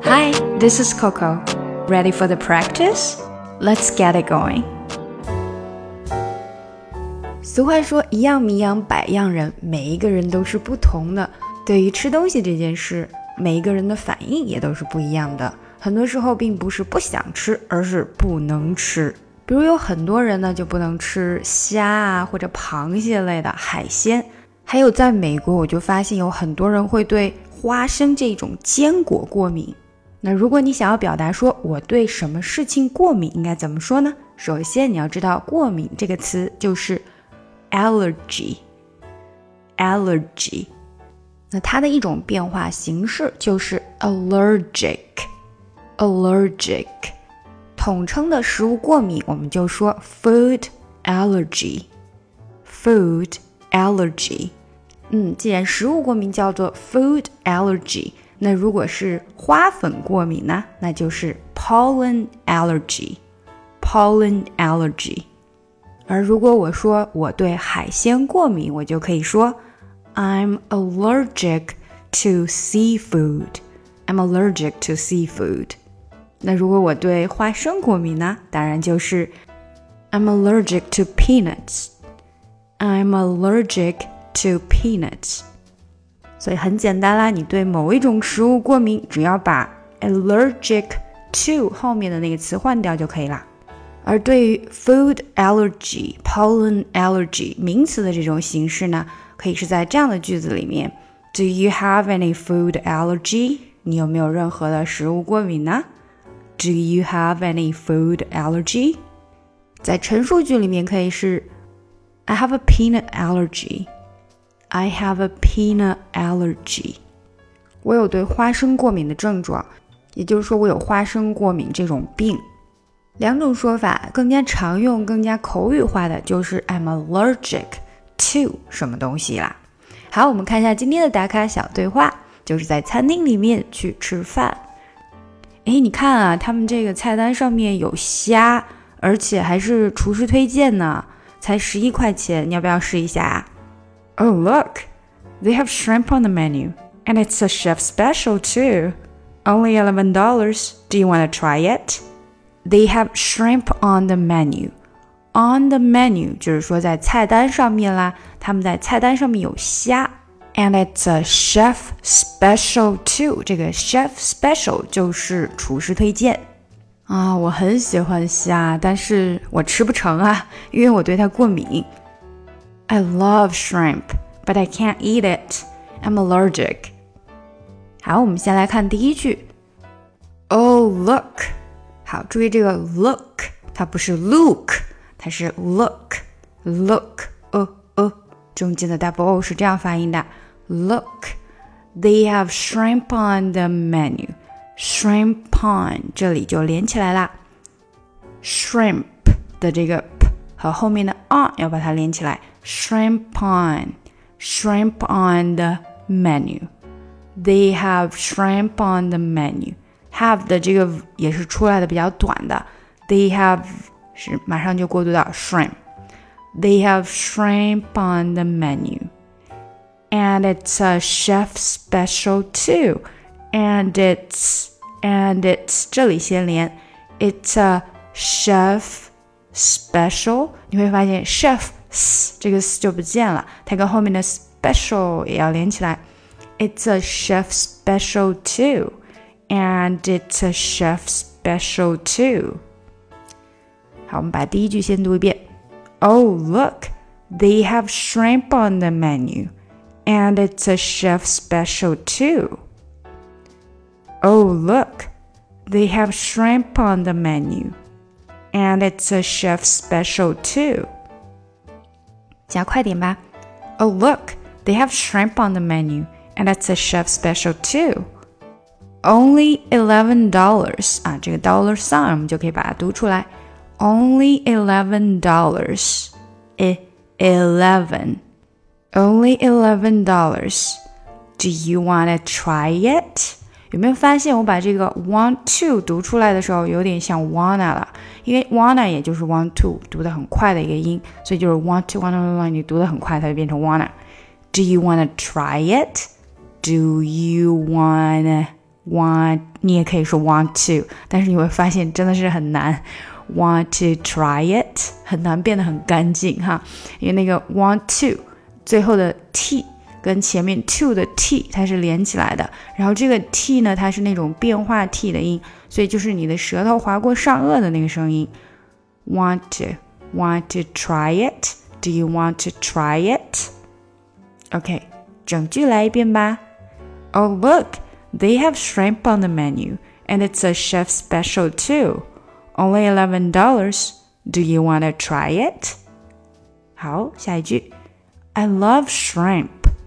Hi, this is Coco. Ready for the practice? Let's get it going. 俗话说一样米养百样人，每一个人都是不同的。对于吃东西这件事，每一个人的反应也都是不一样的。很多时候并不是不想吃，而是不能吃。比如有很多人呢就不能吃虾啊或者螃蟹类的海鲜。还有在美国我就发现有很多人会对花生这种坚果过敏。那如果你想要表达说我对什么事情过敏，应该怎么说呢？首先你要知道过敏这个词就是 allergy。 那它的一种变化形式就是 allergic。 统称的食物过敏我们就说 food allergy。 既然食物过敏叫做 food allergy， 那如果是花粉过敏呢，那就是 pollen allergy。 而如果我说我对海鲜过敏，我就可以说 I'm allergic to seafood。 那如果我对花生过敏呢，当然就是 I'm allergic to peanuts。 所以很简单啦，你对某一种食物过敏，只要把 allergic to 后面的那个词换掉就可以啦。而对于 food allergy、pollen allergy 名词的这种形式呢，可以是在这样的句子里面 Do you have any food allergy？ 你有没有任何的食物过敏呢？ Do you have any food allergy？ 在陈述句里面可以是 I have a peanut allergy。 我有对花生过敏的症状，也就是说我有花生过敏这种病。两种说法，更加常用更加口语化的就是 I'm allergic to 什么东西啦。好，我们看一下今天的打卡小对话，就是在餐厅里面去吃饭。你看啊，他们这个菜单上面有虾，而且还是厨师推荐呢，才11块钱，你要不要试一下啊？Oh, look, they have shrimp on the menu, and it's a chef special too. Only $11. Do you want to try it? They have shrimp on the menu. On the menu 就是说在菜单上面啦，他们在菜单上面有虾。And it's a chef special too. 这个 chef special 就是厨师推荐。我很喜欢虾，但是我吃不成啊，因为我对它过敏。I love shrimp, but I can't eat it. I'm allergic. 好，我们先来看第一句。Oh, look. 好，注意这个 look， 它不是 look， 它是 look。中间的 double O 是这样发音的。Look, they have shrimp on the menu. Shrimp on 这里就连起来啦。Shrimp 的这个 p 和后面的 on 要把它连起来。Shrimp on the menu. They have shrimp on the menu. Have 的这个也是出来的比较短的。They have 是马上就过渡到 shrimp. They have shrimp on the menu. And it's a chef special too. And it's 这里先连 It's a chef special. 你会发现 chef 这个 s 就不见了，它跟后面的 special 也要连起来。It's a chef special too. And it's a chef special too. 好，我们把第一句先读一遍。Oh, look, they have shrimp on the menu. And it's a chef special too. Oh, look, they have shrimp on the menu. And it's a chef special too. 加快点吧。Oh, look, they have shrimp on the menu. And it's a chef special too. Only $11. 这个 dollar sign 我们就可以把它读出来。Only $11. Only $11. Do you want to try it? 有没有发现我把这个 want to 读出来的时候有点像 wanna 了，因为 wanna 也就是 want to 读得很快的一个音，所以就是 want to wanna 你读得很快它就变成 wanna。 Do you want to try it? Do you wanna want， 你也可以说 want to， 但是你会发现真的是很难。Want to try it 很难变得很干净哈，因为那个 want to 最后的 t 跟前面 to 的 t 它是连起来的，然后这个 t 呢它是那种变化 t 的音，所以就是你的舌头划过上颚的那个声音。Want to try it? Do you want to try it? OK， 整句来一遍吧。Oh look, they have shrimp on the menu, and it's a chef's special too.Only $11. Do you want to try it? 好，下一句。I love shrimp.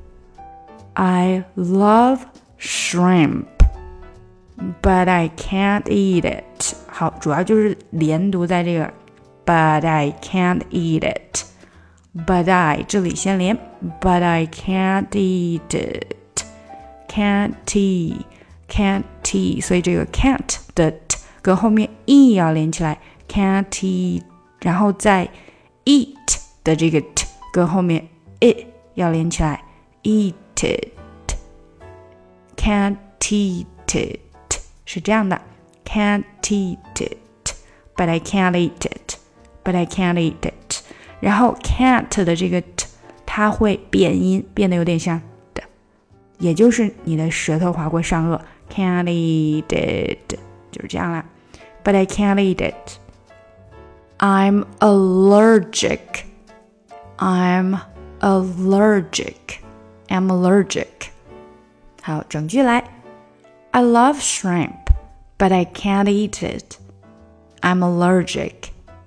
I love shrimp. But I can't eat it. 好，主要就是连读在这个 But I can't eat it. But I 这里先连 But I can't eat it. Can't eat. 所以这个 can't 的 t跟后面 e 要连起来 can't eat， 然后再 eat 的这个 t 跟后面 it 要连起来 eat it can't eat it 是这样的 can't eat it but I can't eat it but I can't eat it， 然后 can't 的这个 t 它会变音变得有点像的，也就是你的舌頭划过上颚 can't eat it， 就是这样啦。But I can't eat it. I'm allergic. I'm allergic. I'm allergic. 好，整句来。I love shrimp, but I can't eat it. I'm allergic.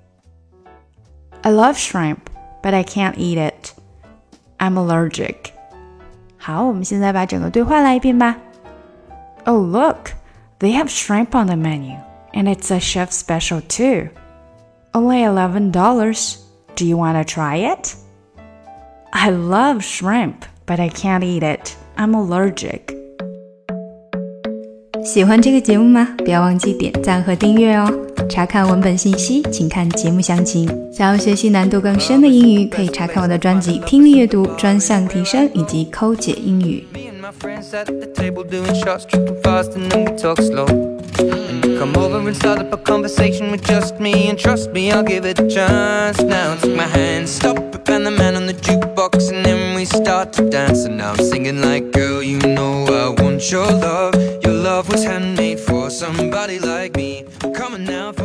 I love shrimp, but I can't eat it. I'm allergic. 好，我们现在把整个对话来一遍吧。Oh, look, they have shrimp on the menu.And it's a chef's special too. Only $11. Do you want to try it? I love shrimp, but I can't eat it. I'm allergic. 喜欢这个节目吗？不要忘记点赞和订阅哦。查看文本信息，请看节目详情。想要学习难度更深的英语，可以查看我的专辑《听力阅读专项提升》以及《抠解英语》。 Come over and start up a conversation with just me. And trust me, I'll give it a chance. Now take my hand, stop it, and the man on the jukebox. And then we start to dance. And now I'm singing like, girl, you know I want your love. Your love was handmade for somebody like me. Come on now.